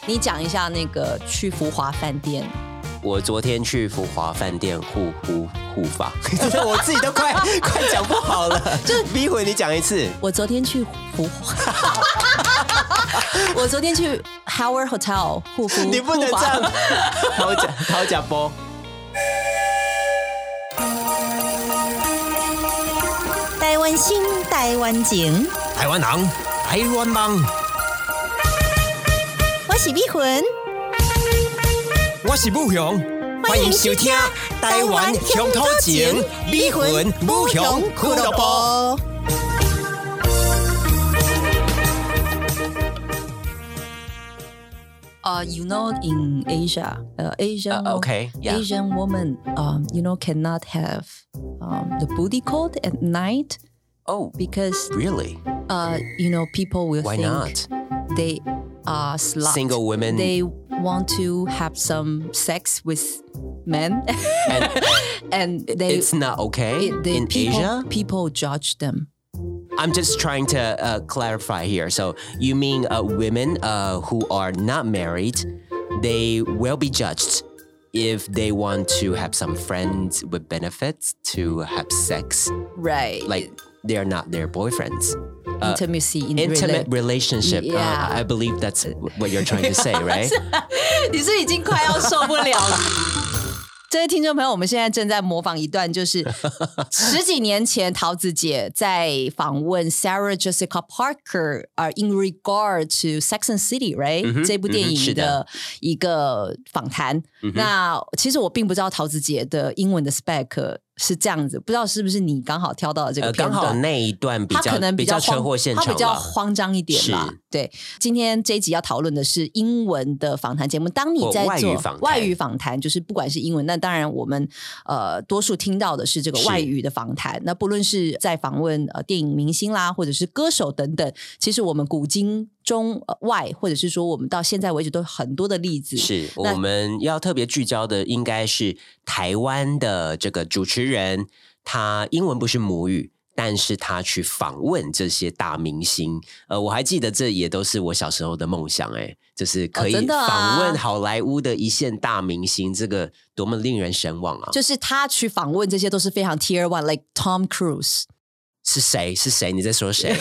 你讲一下那个去福华饭店。 我昨天去福华饭店护发，我自己都快讲不好了。就是逼回你讲一次。 我昨天去福华，我昨天去 Howard Hotel 护肤。 你不能这样，好假波。 台湾心，台湾情， 台湾人，台湾梦。 我是美魂， 我是武雄，欢迎收听《台湾乡土情》美魂武雄俱乐部。 You know, in Asia, Asian woman, cannot have the booty call at night. Oh, because really? People will Why think not? They are slut. Single women. They want to have some sex with men, and it's not okay in Asia. People judge them. I'm just trying to clarify here. So you mean women who are not married, they will be judged if they want to have some friends with benefits to have sex. Right. Like they are not their boyfriends. Intimacy in intimate relationship. Yeah. I believe that's what you're trying to say, right? 你是已经快要受不了了。这位听众朋友，我们现在正在模仿一段，就是10几年前桃子姐在访问 Sarah Jessica Parker in regard to Sex and City, right? 这部电影的一个访谈。那其实我并不知道桃子姐的英文的 spec 是这样子，不知道是不是你刚好挑到的这个片段， 刚好那一段比较车祸现场吧， 他比较慌张一点啦。对，今天这一集要讨论的是英文的访谈节目。当你在做外语访谈，就是不管是英文，那当然我们多数听到的是这个外语的访谈。那不论是在访问电影明星啦，或者是歌手等等，其实我们古今中外，或者是说我们到现在为止都有很多的例子。 是我们要特别聚焦的应该是台湾的这个主持人，他英文不是母语，但是他去访问这些大明星。我还记得这也都是我小时候的梦想，就是可以访问好莱坞的一线大明星，这个多么令人神往啊！ 就是他去访问这些都是非常 Tier 1 like Tom Cruise。 是谁？你在说谁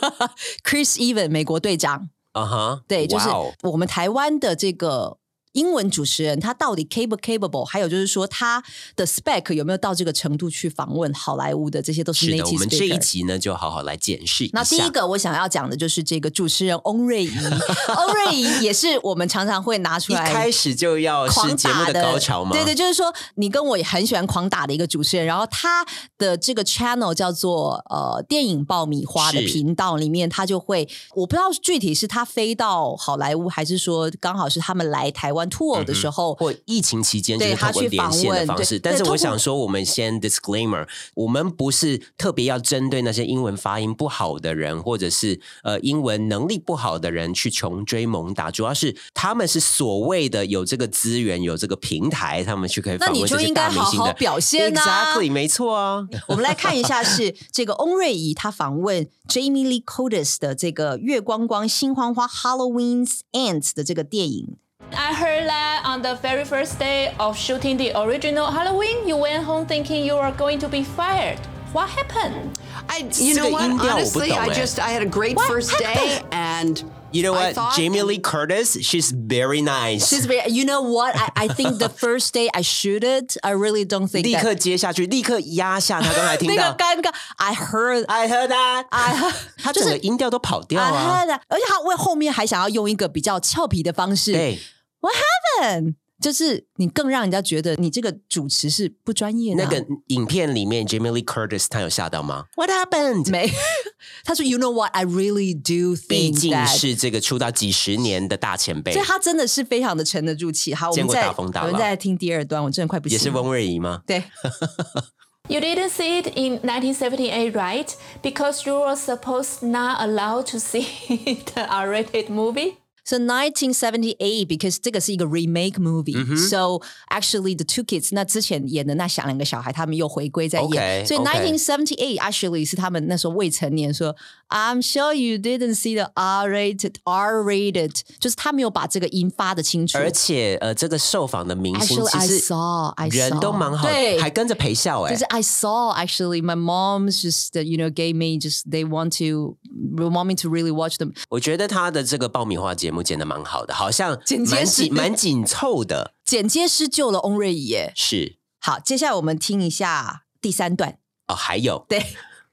？Chris Evans 美国队长。对，就是我们台湾的这个英文主持人，他到底 capable， 还有就是说他的 spec 有没有到这个程度去访问好莱坞的，这些都是 native speaker。 是的，我们这一集呢就好好来检视一下。 那第一个我想要讲的就是这个主持人翁瑞仪，翁瑞仪也是我们常常会拿出来， 一开始就要是节目的高潮吗？ 对，就是说你跟我也很喜欢狂打的一个主持人，然后他的这个 channel 叫做电影爆米花的频道里面，他就会，我不知道具体是他飞到好莱坞，还是说刚好是他们来台湾 tour 的时候， 或疫情期间就是透过连线的方式。但是我想说，我们先 disclaimer， 我们不是特别要针对那些英文发音不好的人，或者是英文能力不好的人去穷追猛打，主要是他们是所谓的有这个资源、有这个平台，他们去可以访问这些大明星的。那你就应该好好表现啊 ！Exactly， 没错啊。 我们来看一下，是这个翁瑞仪他访问 Jamie Lee Curtis 的这个月光光心慌慌 Halloween's Ends 的这个电影。 I heard that on the very first day of shooting the original Halloween, you went home thinking you were going to be fired. What happened? You know what? Honestly, I had a great first day, and you know what? Jamie Lee Curtis, she's very nice. She's very. You know what? I think the first day I shoot it, I really don't think. 立刻接下去，立刻压下他刚才听到那个尴尬。I heard that. 他整个音调都跑掉啊。 I heard that. 而且他为后面还想要用一个比较俏皮的方式。 对。 What happened? 就是你更让人家觉得你这个主持是不专业的。 那个影片里面 Jamie Lee Curtis 他有吓到吗？ What happened? 没，他说 You know what? I really do think that 毕竟是这个出道几十年的大前辈， 所以他真的是非常的沉得住气。好， 见过大风大浪。 我们再听第二段，我真的快不行了。 也是翁瑞仪吗？ 对。 You didn't see it in 1978, right? Because you were supposed not allowed to see the R-rated movie? So 1978 because 这个是一个 remake movie、so actually the two kids 那之前演的那两个小孩他们又回归在演、所以1978 actually 是他们那时候未成年说 I'm sure you didn't see the R-rated 就是他没有把这个音发得清楚， 而且这个受访的明星 actually, 其实 I saw 人都蛮好的，还跟着陪笑就是 I saw actually my mom's just gave me just they want me to really watch them。 我觉得他的这个爆米花节目剪得蛮好的，好像蛮紧凑的， 剪接师救了翁瑞仪耶。 是。 好，接下来我们听一下第3段。 哦，还有对。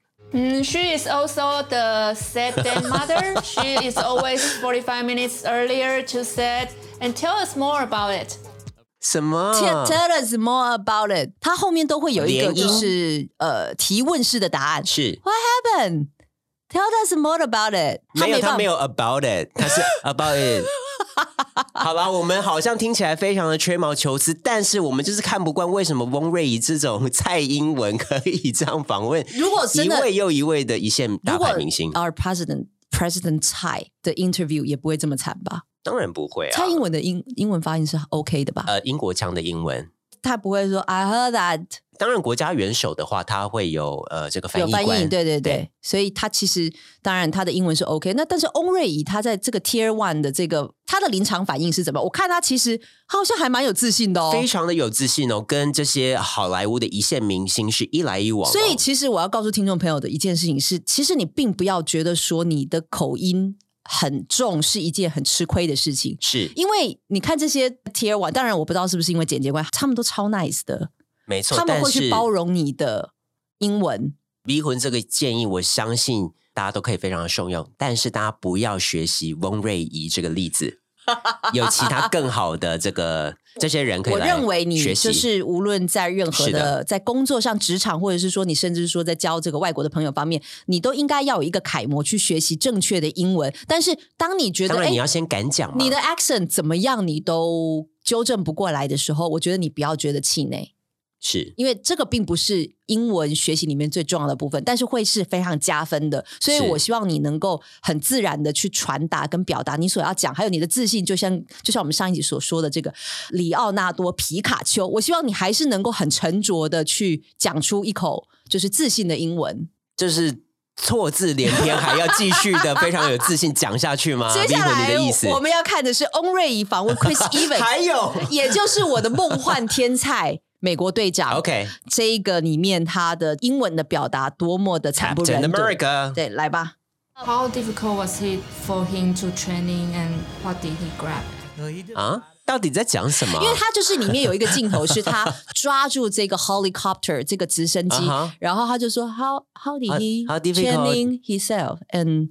She is also the set day mother. She is always 45 minutes earlier to set. And tell us more about it. 什么 ？Tell us more about it. 它后面都会有一个就是提问式的答案。 是 What happened? Tell us more about it. 他没有 about it， 他是 about it 。好啦，我们好像听起来非常的吹毛求疵，但是我们就是看不惯为什么翁瑞仪这种蔡英文可以这样访问， 如果真的一位又一位的一线大牌明星。 Our President 蔡的 interview 也不会这么惨吧？ 当然不会啊， 蔡英文的英文发音是 OK 的吧？ 英国腔的英文， 他不会说 I heard that。 当然，国家元首的话，他会有这个翻译官， 有翻译，对，所以他其实当然他的英文是 OK。那但是翁瑞仪他在这个 Tier 1的这个他的临场反应是怎么？我看他其实好像还蛮有自信的哦， 非常的有自信哦，跟这些好莱坞的一线明星是一来一往、哦。 所以其实我要告诉听众朋友的一件事情是，其实你并不要觉得说你的口音很重是一件很吃亏的事情， 是因为你看这些 Tier 1，当然我不知道是不是因为剪接关，他们都超 nice 的。 没错， 他们会去包容你的英文。 离婚这个建议，我相信大家都可以非常的受用，但是大家不要学习翁瑞仪这个例子，有其他更好的这些人可以来学习。 我认为你就是无论在任何的在工作上、职场，或者是说你甚至是说在交这个外国的朋友方面，你都应该要有一个楷模去学习正确的英文。但是当你觉得， 当然你要先敢讲嘛， 你的 accent 怎么样，你都纠正不过来的时候，我觉得你不要觉得气馁。 是因为这个并不是英文学习里面最重要的部分，但是会是非常加分的，所以我希望你能够很自然的去传达跟表达你所要讲，还有你的自信，就像我们上一集所说的这个里奥纳多皮卡丘，我希望你还是能够很沉着的去讲出一口就是自信的英文， 就是错字连篇，还要继续的非常有自信讲下去吗？ 接下来你的意思我们要看的是翁瑞仪访问 Chris Evans 还有也就是我的梦幻天才美国队长 OK 这一个里面他的英文的表达多么的惨不忍睹 Captain America 对，来吧。 How difficult was it for him to training and what did he grab? 啊，到底在讲什么？ 因为他就是里面有一个镜头是他抓住这个 helicopter 这个直升机然后他就说 How did he training himself and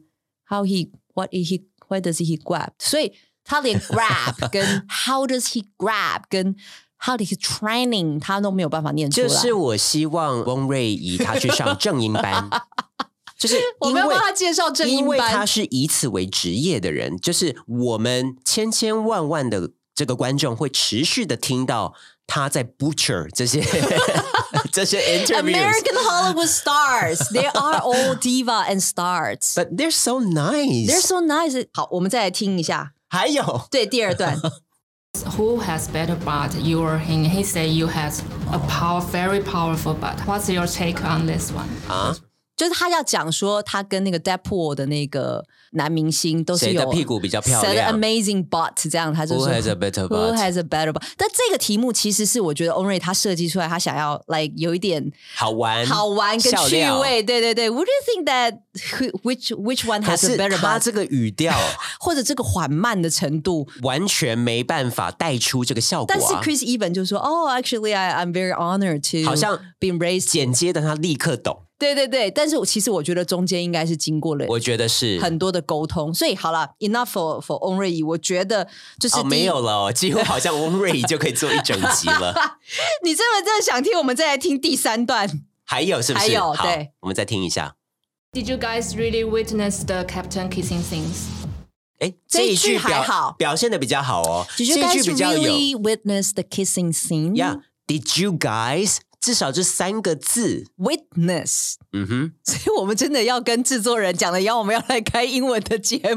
why does he grab 所以他连 grab 跟 how does he grab 跟how did he training 他都没有办法念出来， 就是我希望翁瑞仪他去上正音班就是我们要帮他介绍正音班， 因为他是以此为职业的人，就是我们千万的这个观众会持续的听到他在 butcher 这些interviews American Hollywood stars they are all diva and stars but they're so nice 好，我们再来听一下， 还有对第二段 Who has better butt, you or him? He said you has a very powerful butt. What's your take on this one? 就是他要讲说他跟那个 Deadpool 的那个男明星都是有谁的屁股比较漂亮 amazing butt 这样，他就说 Who has a better butt? Who has a better butt? 但这个题目其实是我觉得翁瑞他设计出来，他想要 like 有一点好玩跟趣味，对 Would you think that which one has a better butt? 可是他这个语调或者这个缓慢的程度完全没办法带出这个效果但是 Chris Evans 就说actually I'm very honored to 好像 be raised 剪接的他立刻懂， 对，但是其实我觉得中间应该是经过了， 我觉得是很多的沟通，所以好了 ，enough for 翁瑞仪，我觉得就是没有了几乎好像翁瑞仪就可以做一整集了。 你真的想听，我们再来听第3段， 还有是不是？ 还有好对， 我们再听一下。 Did you guys really witness the captain kissing scenes? 这一句还好， 表现的比较好哦。 Did you guys really witness the kissing scene? Yeah, did you guys？至少这3个字 witness 所以我们真的要跟制作人讲了，我们要来开英文的节目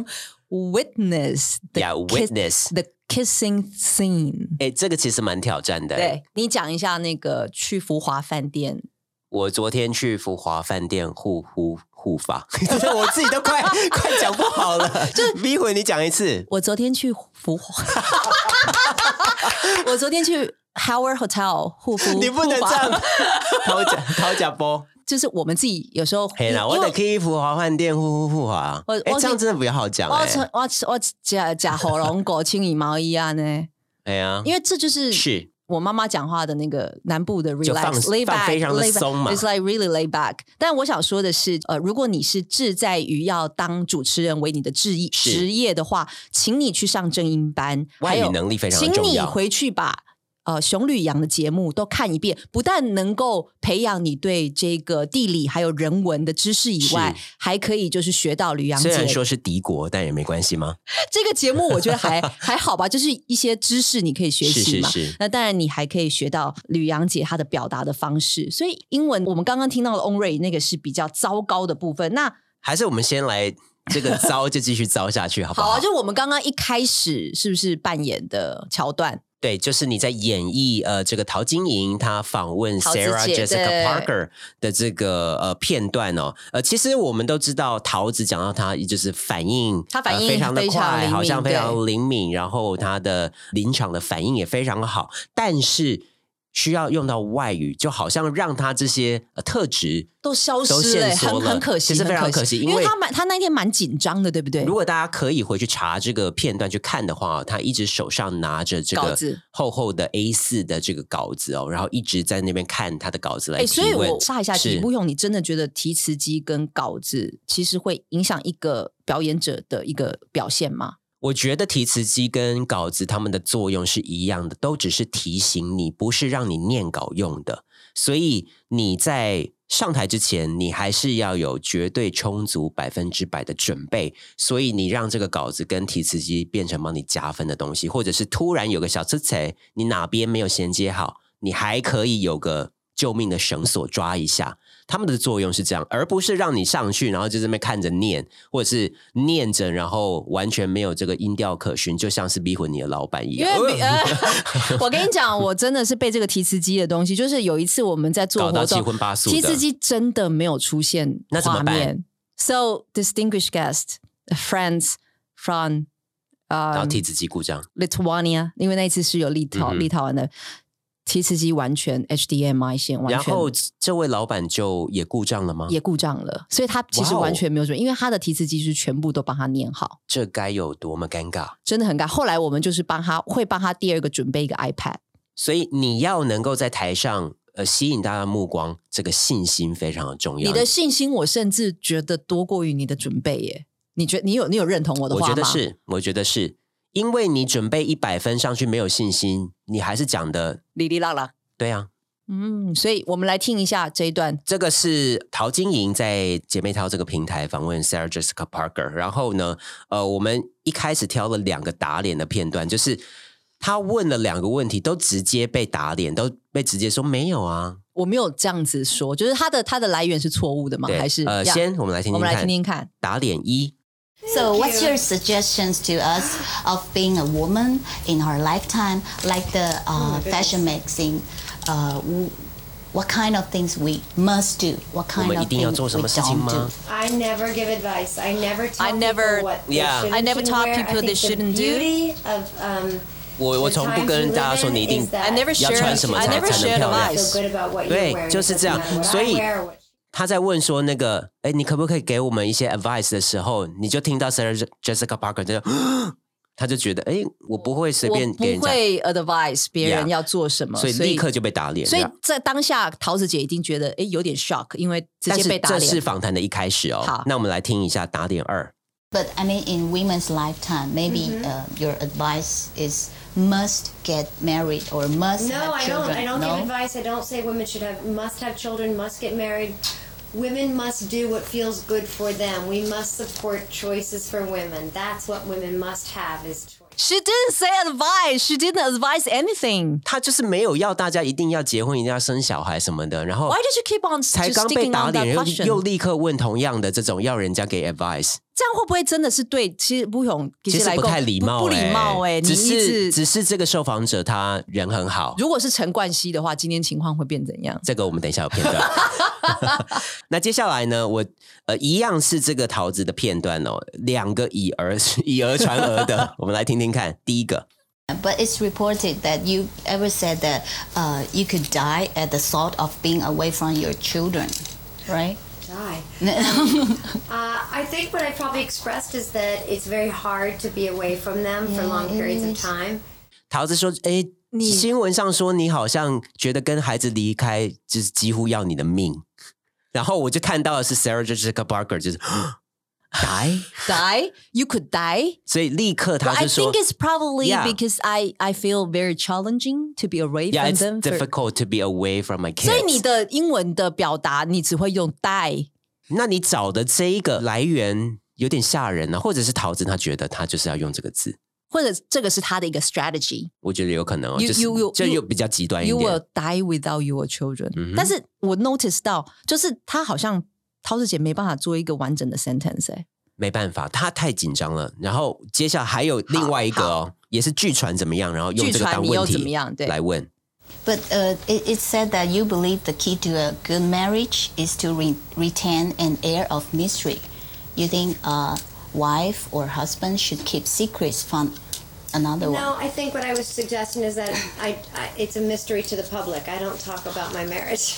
witness the kissing scene。 这个其实蛮挑战的。 对，你讲一下那个去福华饭店。 我昨天去福华饭店护发，我自己都快讲不好了。就逼回你讲一次。 我昨天去福华，我昨天去 Howard Hotel 护肤。 你不能这样讨假波。 就是我们自己有时候， 嘿啦，我得去福华饭店护华。这样真的比较好讲。 我假喉咙狗清理毛衣啊呢。 哎呀， 因为这就是我妈妈讲话的那个南部的 relax lay back， 非常的松嘛 ，it's like really lay back。但我想说的是，如果你是志在于要当主持人为你的职业的话，请你去上正音班， 外语能力非常重要。 请你回去把熊旅洋的节目都看一遍，不但能够培养你对这个地理还有人文的知识以外，还可以就是学到旅洋节。 虽然说是敌国，但也没关系吗？ 这个节目我觉得还好吧，就是一些知识你可以学习嘛。 是。 那当然你还可以学到旅洋姐她的表达的方式。所以英文我们刚刚听到的 on rate 那个是比较糟糕的部分。那还是我们先来这个糟就继续糟下去，好不好？ 好啊，就我们刚刚一开始是不是扮演的桥段？ 对，就是你在演绎这个陶晶莹她访问 Sarah Jessica Parker 的这个片段哦。其实我们都知道桃子讲到她就是反应非常的快，好像非常灵敏，然后她的临场的反应也非常好，但是需要用到外语，就好像让他这些特质都消失了，很可惜， 其实非常可惜， 因为他那天蛮紧张的，对不对？ 如果大家可以回去查这个片段去看的话，他一直手上拿着这个厚厚的 A4 的这个稿子哦，然后一直在那边看他的稿子来提问。 所以我插一下题，不用你真的觉得提词机跟稿子其实会影响一个表演者的一个表现吗？ 我觉得提词机跟稿子它们的作用是一样的，都只是提醒你，不是让你念稿用的。所以你在上台之前，你还是要有绝对充足100%的准备。所以你让这个稿子跟提词机变成帮你加分的东西，或者是突然有个小刺刺，你哪边没有衔接好，你还可以有个救命的绳索抓一下。他们的作用是这样，而不是让你上去然后就在那边看着念，或者是念着然后完全没有这个音调可循，就像是逼混你的老板一样。 我跟你讲，我真的是被这个提词机的东西，就是有一次我们在做活动， 搞到七荤八素的， 提词机真的没有出现那怎么办？ So distinguished guest friends from 然后提词机故障 Lithuania， 因为那一次是有立陶宛的。提词机完全 HDMI 线完全， 然后这位老板就也故障了吗？ 也故障了，所以他其实完全没有准备，因为他的提词机是全部都帮他念好。 这该有多么尴尬， 真的很尴尬。后来我们就是帮他第二个准备一个 iPad。 所以你要能够在台上吸引大家的目光，这个信心非常的重要。 你的信心我甚至觉得多过于你的准备耶。你有认同我的话吗？ 我觉得是。因为你准备100分上去没有信心，你还是讲的哩哩啦啦。 对啊， 所以我们来听一下这一段。 这个是陶晶莹在姐妹淘这个平台访问 Sarah Jessica Parker， 然后呢，我们一开始挑了2个打脸的片段，就是他问了2个问题，都直接被打脸，都被直接说没有啊， 我没有这样子说，就是他的来源是错误的吗？还是先我们来听听看，打脸1。 So what's your suggestions to us of being a woman in our lifetime, like the fashion magazine? What kind of things we must do? What kind of things we don't do? I never give advice. I never tell people what they shouldn't I never taught wear. people they shouldn't do. The beauty of 我从不跟大家说你一定要穿什么才能漂亮。对，就是这样。所以他在问说那个，你可不可以给我们一些 advice 的时候，你就听到 Sarah Jessica Parker 就他就觉得，我不会随便给人家， 我不会 advise 别人要做什么， 所以立刻就被打脸。 所以在当下，桃子姐一定觉得，有点 shock， 因为直接被打脸。 但是这是访谈的一开始哦。好，那我们来听一下打脸2。 But I mean, in women's lifetime, maybe your advice is must get married or must have children. No, I don't give advice. I don't say women must have children, must get married. Women must do what feels good for them. We must support choices for women. That's what women must have is choice. She didn't say advice. She didn't advise anything. 她就是没有要大家一定要结婚，一定要生小孩什么的。然后 Why did you keep on 才刚被打脸，又立刻问同样的这种要人家给 advice， 这样会不会真的是对？其实不用， 其实不太礼貌， 不礼貌哎、欸。 只是这个受访者他人很好。 如果是陈冠希的话，今天情况会变怎样？ 这个我们等一下有片段。那接下来呢，我一样是这个桃子的片段哦，两个以讹传讹的，我们来听听看。第一个。 But it's reported that you ever said that you could die at the thought of being away from your children, right? Die. I think what I probably expressed is that it's very hard to be away from them for long periods of time. 桃子说：“哎，新闻上说你好像觉得跟孩子离开就是几乎要你的命。”然后我就看到的是 Sarah Jessica Parker 就是。 Die? You could die? 所以立刻他就说 I think it's probably because I feel very challenging to be away from them. Yeah, it's difficult to be away from my kids. 所以你的英文的表达你只会用 die. 那你找的这一个来源有点吓人啊，或者是桃子他觉得他就是要用这个字， 或者这个是他的一个 strategy. 我觉得有可能哦，就又比较极端一点。 You will die without your children. 但是我 notice 到就是他好像桃子姐没办法做一个完整的 sentence 欸。 没办法，他太紧张了。然后接下来还有另外一个哦，也是据传怎么样，然后用这个当问题来问。 But it said that you believe the key to a good marriage is to retain an air of mystery. You think a wife or husband should keep secrets from another one? No, I think what I was suggesting is that it's a mystery to the public. I don't talk about my marriage.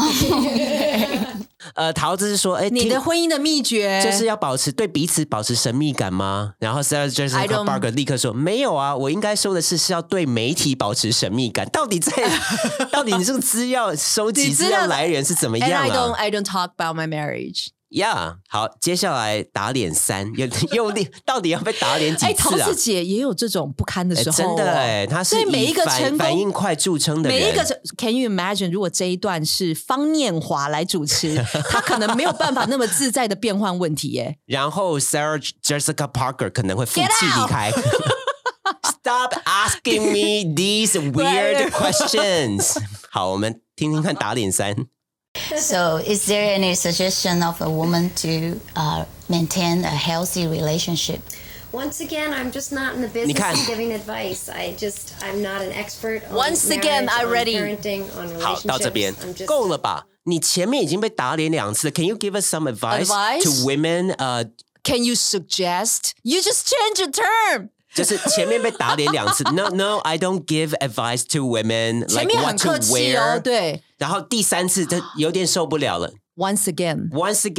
桃子是说，哎， 你的婚姻的秘诀就是要对彼此保持神秘感吗？然后 Sarah Jessica Parker 立刻说，没有啊，我应该说的是要对媒体保持神秘感。到底你这个资料收集资料来源是怎么样啊 I don't talk about my marriage. Yeah， 好，接下来打脸3，又到底要被打脸几次啊？ 桃子姐也有这种不堪的时候， 真的哎，她是以反应快著称的人。 每一个 Can you imagine？ 如果这一段是方念华来主持，她可能没有办法那么自在的变换问题耶。 然后 Sarah Jessica Parker 可能会负气离开。Stop asking me these weird questions。好，我们听听看打脸3。 So, is there any suggestion of a woman to maintain a healthy relationship? Once again, I'm just not in the business of giving advice. I'm not an expert on Once again, marriage, I'm ready. On parenting, on relationships. 好，到这边够了吧？你前面已经被打脸2次了。Can you give us some advice to women? Can you suggest? You just change your term. 就是前面被打脸2次 No, I don't give advice to women like what to wear 对， 然后第3次就有点受不了了 Once again,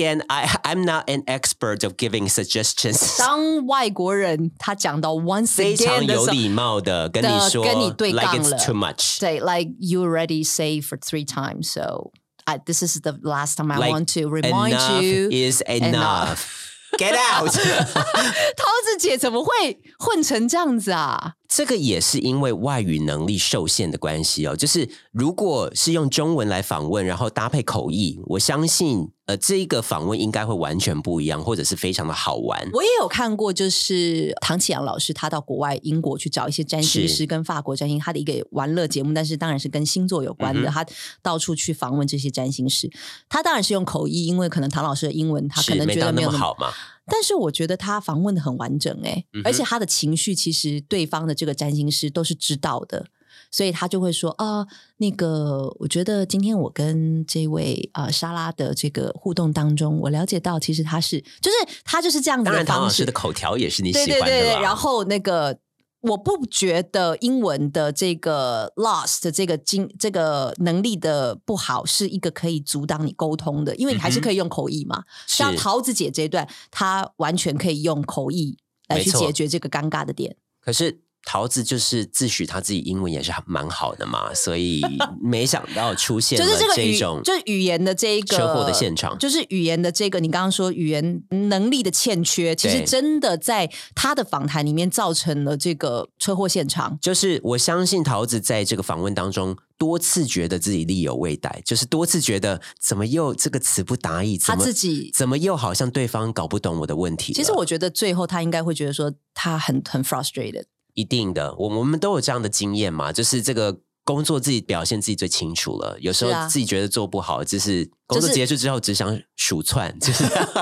I'm not an expert of giving suggestions 当外国人他讲到 once again 非常有礼貌的跟你说跟你对杠了 like it's too much 对 like you already say for 3 times so this is the last time I want to remind you enough is enough.Get out 桃子姐怎么会混成这样子啊？ 这个也是因为外语能力受限的关系哦。就是如果是用中文来访问，然后搭配口译，我相信这一个访问应该会完全不一样，或者是非常的好玩。 我也有看过，就是唐启阳老师他到国外英国去找一些占星师跟法国占星，他的一个玩乐节目，但是当然是跟星座有关的。他到处去访问这些占星师，他当然是用口译，因为可能唐老师的英文他可能觉得没有那么好嘛。 但是我觉得他访问的很完整而且他的情绪其实对方的这个占星师都是知道的，所以他就会说那个我觉得今天我跟这位莎拉的这个互动当中，我了解到其实他就是这样子的方式。当然唐老师的口条也是你喜欢的吧？ 对，然后那个我不觉得英文的这个 lost 这个能力的不好是一个可以阻挡你沟通的，因为你还是可以用口译嘛。像桃子姐这一段，她完全可以用口译来去解决这个尴尬的点。 可是桃子就是自诩他自己英文也是蛮好的嘛，所以没想到出现了这种就是语言的这个车祸的现场， 就是语言的这个你刚刚说语言能力的欠缺，其实真的在他的访谈里面造成了这个车祸现场。 就是我相信桃子在这个访问当中多次觉得自己力有未逮，就是多次觉得怎么又这个词不达意， 他自己怎么又好像对方搞不懂我的问题了。 其实我觉得最后他应该会觉得说他很 frustrated。 一定的，我们都有这样的经验嘛，就是这个工作自己表现自己最清楚了，有时候自己觉得做不好，就是工作结束之后只想数窜，就是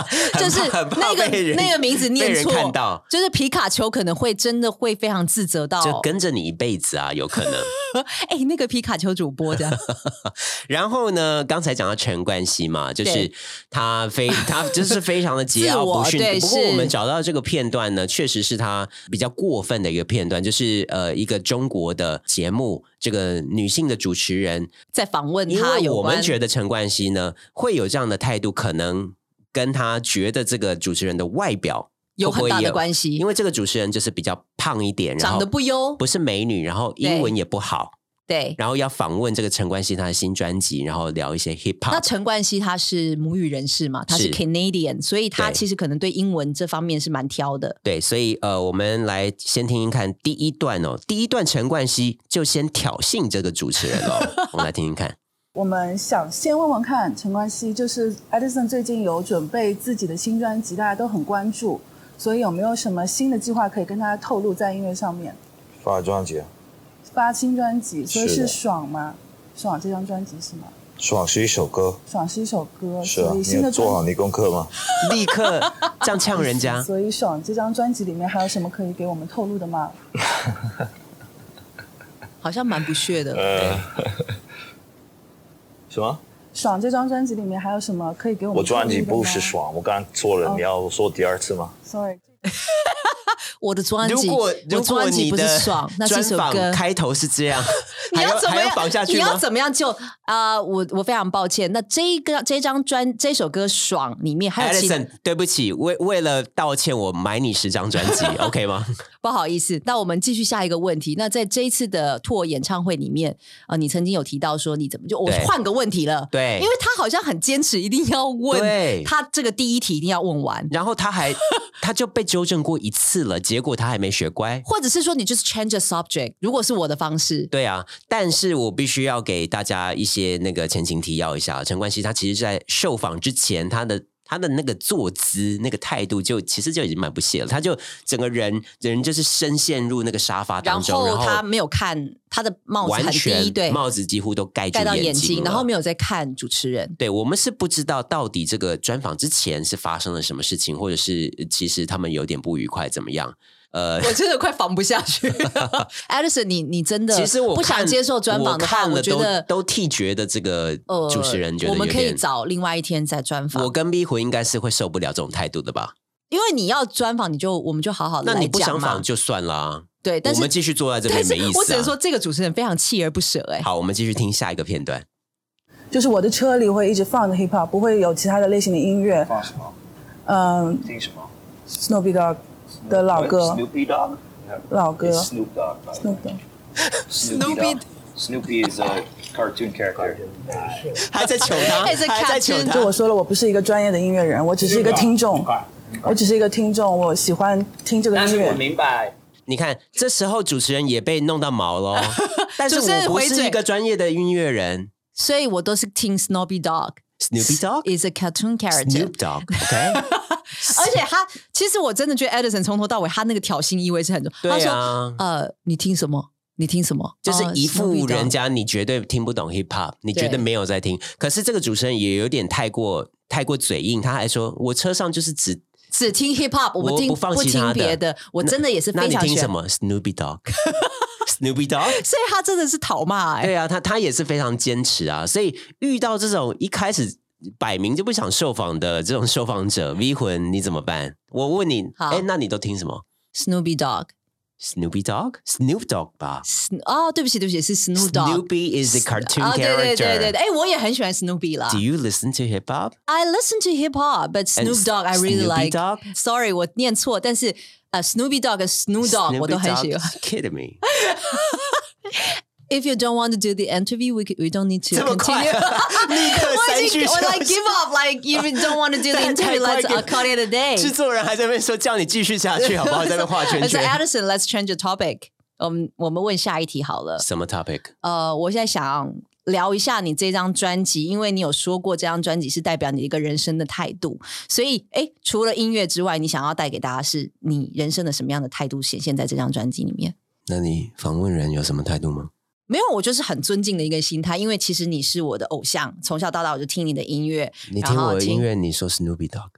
那个名字念错， 看到就是皮卡丘可能会真的会非常自责到， 就跟着你一辈子啊，有可能。 那个皮卡丘主播这样。 然后呢，刚才讲到陈冠希嘛，就是他就是非常的桀骜不驯。不过我们找到这个片段呢，确实是他比较过分的一个片段，就是一个中国的节目，这个女性的主持人在访问他有关， 因为我们觉得陈冠希呢会有这样的态度，可能跟他觉得这个主持人的外表有很大的关系， 因为这个主持人就是比较胖一点， 长得不优， 不是美女，然后英文也不好， 对， 然后要访问这个陈冠希他的新专辑，然后聊一些 hip hop。 那陈冠希他是母语人士嘛，他是 Canadian， 所以他其实可能对英文这方面是蛮挑的。 对，所以我们来先听听看第一段哦。第一段陈冠希就先挑衅这个主持人哦，我们来听听看。 我们想先问问看陈冠希，就是 Edison 最近有准备自己的新专辑，大家都很关注，所以有没有什么新的计划可以跟大家透露在音乐上面？ 发专辑啊， 发新专辑，所以是爽吗？爽这张专辑是吗？ 爽是一首歌， 爽是一首歌， 是啊， 所以新的你有做好你功课吗？ 立刻这样呛人家。 所以爽这张专辑里面还有什么可以给我们透露的吗？ 好像蛮不屑的。 什么？ 爽这张专辑里面还有什么可以给我们透露的吗？ 我专辑不是爽，我刚刚说了，你要说第二次吗 ？Sorry。 我的专辑， 如果你不是爽，那是一首歌开头是这样， 你要怎么样绑下去吗？ 你要怎么样就我非常抱歉。那这首歌爽里面还有 Edison， 对不起，为了道歉，我买你10张专辑，OK 吗？ 不好意思，那我们继续下一个问题。那在这一次的tour演唱会里面，你曾经有提到说你怎么我换个问题了， 对， 因为他好像很坚持一定要问，他这个第一题一定要问完， 然后他就被纠正过一次了，结果他还没学乖， 或者是说你就是 change the subject， 如果是我的方式， 对啊，但是我必须要给大家一些那个前情提要一下，陈冠希他其实在受访之前，他的那个坐姿、那个态度其实就已经蛮不屑了，他就整个人就是深陷入那个沙发当中， 然后他没有看他的帽子很低，对， 帽子几乎都盖到眼睛， 然后没有在看主持人。 对，我们是不知道到底这个专访之前是发生了什么事情，或者是其实他们有点不愉快怎么样。 我真的快访不下去了。Edison， 你真的其实我不想接受专访的话，我觉得都替觉得这个主持人觉得我们可以找另外一天再专访。 我跟逼魂应该是会受不了这种态度的吧？ 因为你要专访，我们就好好的来讲嘛。 那你不想访就算啦。 对，但是我们继续坐在这边没意思啊。 我只能说这个主持人非常锲而不舍。 好，我们继续听下一个片段。 就是我的车里会一直放着 hip hop， 不会有其他的类型的音乐。 放什么？听什么 ？Snoopy Dogg 的老歌。 Snoopy Dogg。 老歌 Snoop Dogg. Snoopy is a cartoon character. 还在求他，还在求他。 就我说了，我不是一个专业的音乐人，我只是一个听众。我只是一个听众，我喜欢听这个音乐。 但是我明白。 你看，这时候主持人也被弄到毛了。但是我不是一个专业的音乐人， 所以我都是听 Snoopy Dogg。Snoopy Dogg is a cartoon character. Snoop Dogg，OK 。 而且其实我真的觉得 Edison 从头到尾他那个挑衅意味是很重。 对啊， 他说你听什么？你听什么？ 就是一副人家你绝对听不懂 hip hop， 你绝对没有在听。可是这个主持人也有点太过嘴硬，他还说我车上就是只听 hip hop， 我不听别的。我真的也是非常喜欢。 那你听什么 ？Snoopy Dogg。Snoopy Dogg， 所以他真的是讨骂。 对啊，他也是非常坚持啊。所以遇到这种一开始摆明就不想受访的这种受访者 V 魂，你怎么办？我问你，那你都听什么 ？Snoopy Dogg。Snoop Dogg 吧？ 对不起，是 Snoop Dogg。 Snoopy is a cartoon character。 对，我也很喜欢 Snoopy 啦。 Do you listen to hip hop? I listen to hip hop, but Snoop Dogg I really like. Sorry， 我念错，但是Snoopy Dogg 和 Snoop Dogg 我都很喜欢。 Kidding me? If you don't want to do the interview, we don't need to continue. 立刻删去。 我 like give up. Like if you don't want to do the interview, let's call it a day. 制作人还在那边说叫你继续下去，好不好？在那边画圈圈。 Edison, let's change the topic. 我们问下一题好了。 什么 topic？ 我现在想聊一下你这张专辑，因为你有说过这张专辑是代表你一个人生的态度，所以除了音乐之外，你想要带给大家是你人生的什么样的态度显现在这张专辑里面？ 那你访问人有什么态度吗？ 没有，我就是很尊敬的一个心态，因为其实你是我的偶像，从小到大我就听你的音乐。 你听我的音乐，你说 Snoopy Dogg。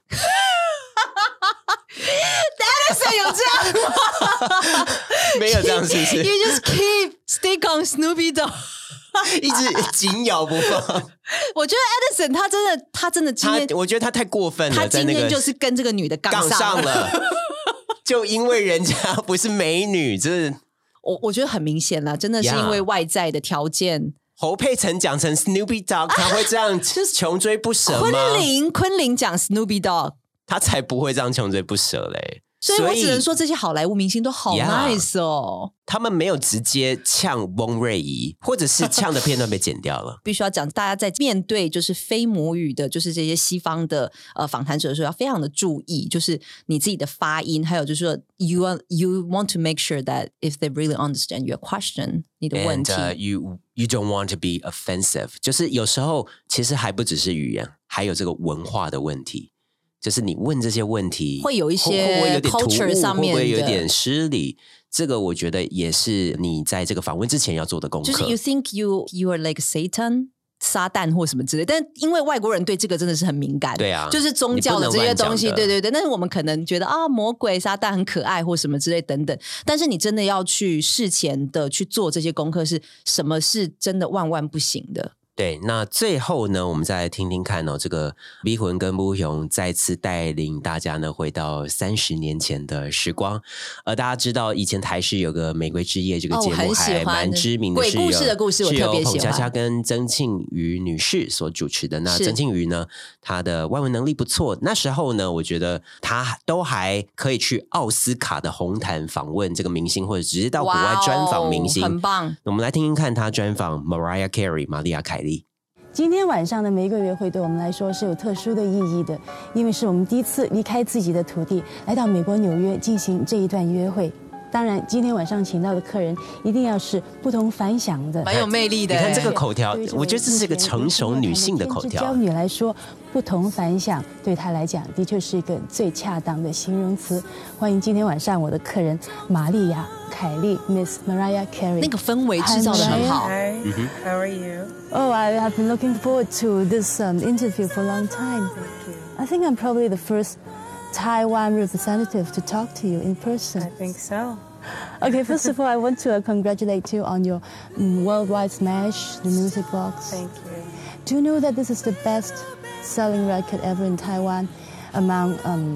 Addison 有这样吗？ 没有这样，是不是 ？You just keep stick on Snoopy Dogg， 一直紧咬不放。 我觉得 Addison 他真的今天， 我觉得他太过分了， 他今天就是跟这个女的杠上了，就因为人家不是美女，这我觉得很明显啦，真的是因为外在的条件。 侯佩岑讲成 Snoopy Dogg， 他会这样穷追不舍吗？ 昆凌讲 Snoopy Dogg， 他才不会这样穷追不舍嘞。 所以我只能说这些好莱坞明星都好 nice 哦， 他们没有直接呛翁瑞仪，或者是呛的片段被剪掉了。 必须要讲，大家在面对就是非母语的，就是这些西方的访谈者的时候，要非常的注意，就是你自己的发音，还有就是说 you want to make sure that if they really understand your question， 你的问题。 And, you don't want to be offensive， 就是有时候其实还不只是语言，还有这个文化的问题。就是你问这些问题会有一些 culture 上面的， 会不会有点失礼？这个我觉得也是你在这个访问之前要做的功课。 就是 you think you are like Satan， 撒旦或什么之类，但因为外国人对这个真的是很敏感， 对啊， 就是宗教的这些东西，对对对。但是我们可能觉得啊，魔鬼撒旦很可爱或什么之类等等，但是你真的要去事前的去做这些功课，是什么是真的万万不行的。 对，那最后呢，我们再来听听看哦，这个 V 魂跟木雄再次带领大家呢回到30年前的时光。大家知道以前台视有个《玫瑰之夜》这个节目还蛮知名的， 鬼故事的故事，我特别喜欢，是由彭佳佳跟曾庆瑜女士所主持的。那曾庆瑜呢，她的外文能力不错，那时候呢，我觉得她都还可以去奥斯卡的红毯访问这个明星，或者直接到国外专访明星， 很棒。 我们来听听看她专访 Mariah Carey 玛丽亚凯莉。 今天晚上的玫瑰约会对我们来说是有特殊的意义的，因为是我们第一次离开自己的土地，来到美国纽约进行这一段约会。当然，今天晚上请到的客人一定要是不同凡响的， 蛮有魅力的。 你看这个口条，我觉得这是一个成熟女性的口条。 娇女来说，不同凡响对她来讲的确是一个最恰当的形容词。欢迎今天晚上我的客人玛丽亚凯莉 Miss Mariah Carey。 那个氛围制造得很好。 Hi, how are you? Oh, I have been looking forward to this interview for a long time. Thank you. I think I'm probably the first Taiwan representative to talk to you in person. I think so. Okay, first of all, I want to congratulate you on your worldwide smash, the music box. Thank you. Do you know that this is the best-selling record ever in Taiwan among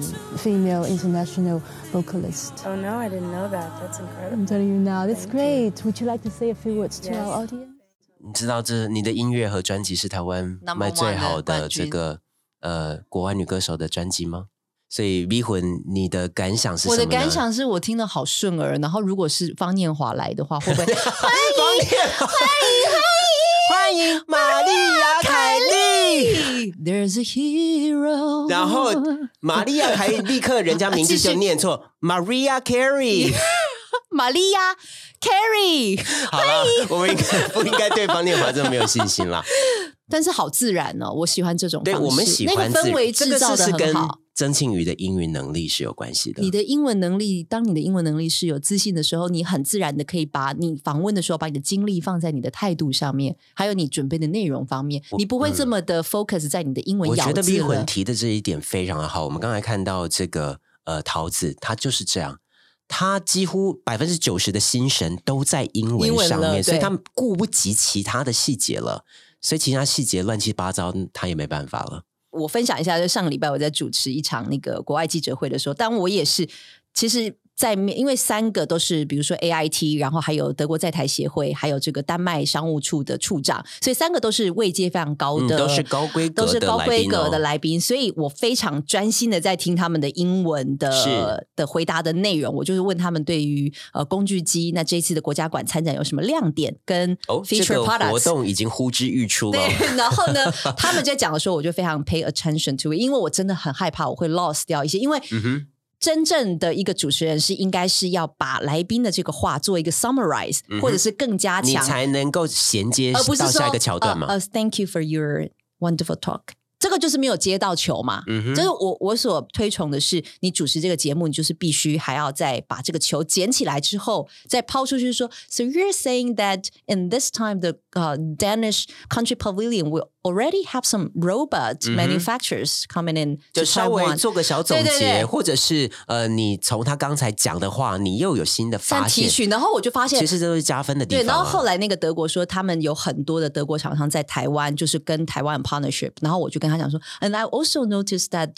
female international vocalists? Oh no, I didn't know that. That's incredible. I'm telling you now, that's great. Would you like to say a few words to our audience? 你知道你的音乐和专辑是台湾卖最好的这个国外女歌手的专辑吗？所以 V 魂，你的感想是什么呢？ 我的感想是我听得好顺耳，然后如果是方念华来的话，会不会欢迎玛丽亚凯莉 ？There's a hero。 然后玛丽亚凯莉立刻人家名字就念错，Mariah Carey。 玛丽亚 Carey， 好了，我们不应该对方念华这么没有信心啦。 但是好自然哦，我喜欢这种方式。 对，我们喜欢那个氛围制造得很好。 曾庆瑜的英语能力是有关系的。 你的英文能力，当你的英文能力是有自信的时候，你很自然的可以把你访问的时候，把你的精力放在你的态度上面，还有你准备的内容方面，你不会这么的 focus 在你的英文咬字了。 我觉得 V 魂提的这一点非常的好。我们刚才看到这个桃子，她就是这样。他几乎90%的心神都在英文上面，所以他顾不及其他的细节了，所以其他细节乱七八糟，他也没办法了。 我分享一下，就上个礼拜我在主持一场那个国外记者会的时候，但我也是，其实因为3个都是比如说 AIT， 然后还有德国在台协会，还有这个丹麦商务处的处长，所以3个都是位阶非常高的， 都是高规格的来宾，所以我非常专心的在听他们的英文的回答的内容。我就是问他们对于工具机那这一次的国家馆参展有什么亮点跟 feature products。 这个活动已经呼之欲出了。 对，然后呢，他们在讲的时候，我就非常 pay attention to it， 因为我真的很害怕我会 lost 掉一些，因为真正的一个主持人是应该是要把来宾的这个话做一个 summarize，或者是更加强， 你才能够衔接到下一个桥段嘛。 Thank you for your wonderful talk 这个就是没有接到球嘛。就是我所推崇的是，你主持这个节目，你就是必须还要再把这个球捡起来之后，再抛出去说 ，So you're saying that in this time the Danish Country Pavilion will already have some robot manufacturers coming in， 就稍微做个小总结，或者是你从他刚才讲的话，你又有新的发现， 提取，然后我就发现， 其实这都是加分的地方。 对，然后后来那个德国说，他们有很多的德国厂商在台湾，就是跟台湾 partnership， 然后我就跟他讲说 ，and I also noticed that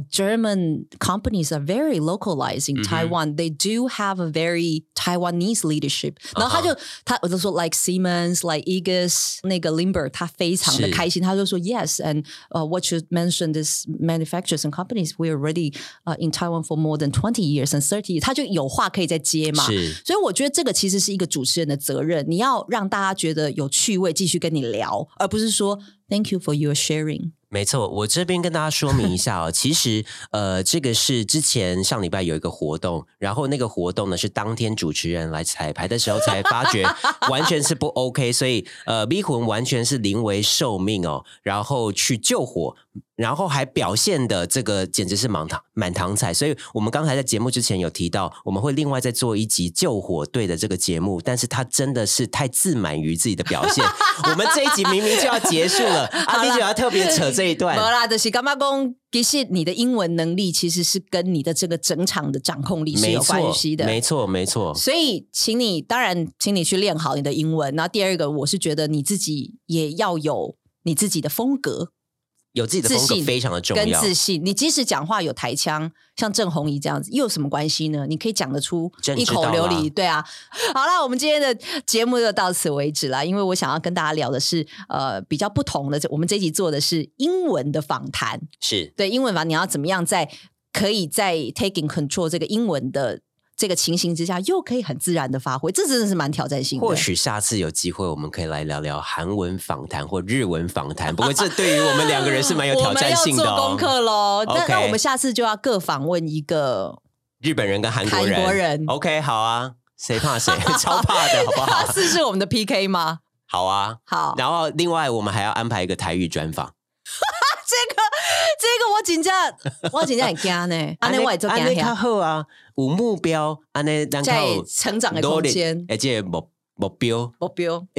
German companies are very localized in Taiwan. They do have a very Taiwanese leadership. 然后我就说 like Siemens, like Aegis， 那个 Limber， 他非常的开心，他就说 yes, and what you mentioned is manufacturers and companies we already in Taiwan for more than 20 years and 30 years， 他就有话可以再接嘛。所以我觉得这个其实是一个主持人的责任，你要让大家觉得有趣味，继续跟你聊，而不是说 Thank you for your sharing。 没错，我这边跟大家说明一下哦，其实这个是之前上礼拜有一个活动，然后那个活动呢是当天主持人来彩排的时候才发觉完全是不 OK， 所以逼魂完全是临危受命哦，然后去救火，然后还表现的这个简直是满堂彩，所以我们刚才在节目之前有提到，我们会另外再做一集救火队的这个节目，但是他真的是太自满于自己的表现，我们这一集明明就要结束了，阿弟就要特别扯这一段。 没啦，就是干嘛讲，其实你的英文能力其实是跟你的这个整场的掌控力是有关系的。 没错，没错。 所以，请你去练好你的英文。然后第二个，我是觉得你自己也要有你自己的风格。 有自己的风格非常的重要， 跟自信。你即使讲话有台腔，像郑弘仪这样子，又有什么关系呢？你可以讲得出一口流利，对啊。好啦，我们今天的节目就到此为止啦。因为我想要跟大家聊的是比较不同的，我们这一集做的是英文的访谈， 是对英文访谈，你要怎么样可以在 taking control 这个英文的这个情形之下，又可以很自然的发挥，这真的是蛮挑战性的。 或许下次有机会，我们可以来聊聊韩文访谈或日文访谈。不过这对于我们两个人是蛮有挑战性的我们要做功课咯。那我们下次就要各访问一个日本人跟韩国人。OK， 好啊，谁怕谁？超怕的，好不好？ 下次是我们的 PK 吗？ 好啊， 好。 然后另外我们还要安排一个台语专访。 这个我真的很惊呢，安尼我也做惊较好啊，有目标，安尼能够成长的空间， 而且目标， 我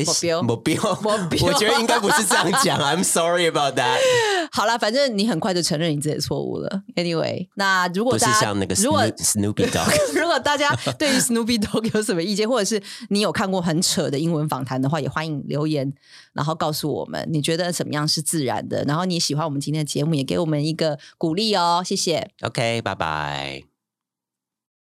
觉得应该不是这样讲，I'm sorry about that。 好啦，反正你很快就承认你自己的错误了。Anyway， 那如果大家不是像那个 Snoopy Dog， 如果大家对于 Snoopy Dog 有什么意见，或者是你有看过很扯的英文访谈的话，也欢迎留言，然后告诉我们你觉得怎么样是自然的，然后你喜欢我们今天的节目，也给我们一个鼓励哦，谢谢。 OK， 拜拜。